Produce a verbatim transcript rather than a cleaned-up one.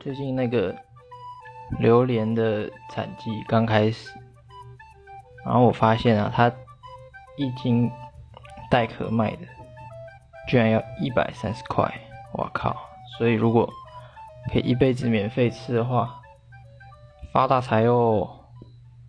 最近那个榴莲的产季刚开始，然后我发现啊，它一斤带壳卖的居然要一百三十块，我靠！所以如果可以一辈子免费吃的话，发大财哦！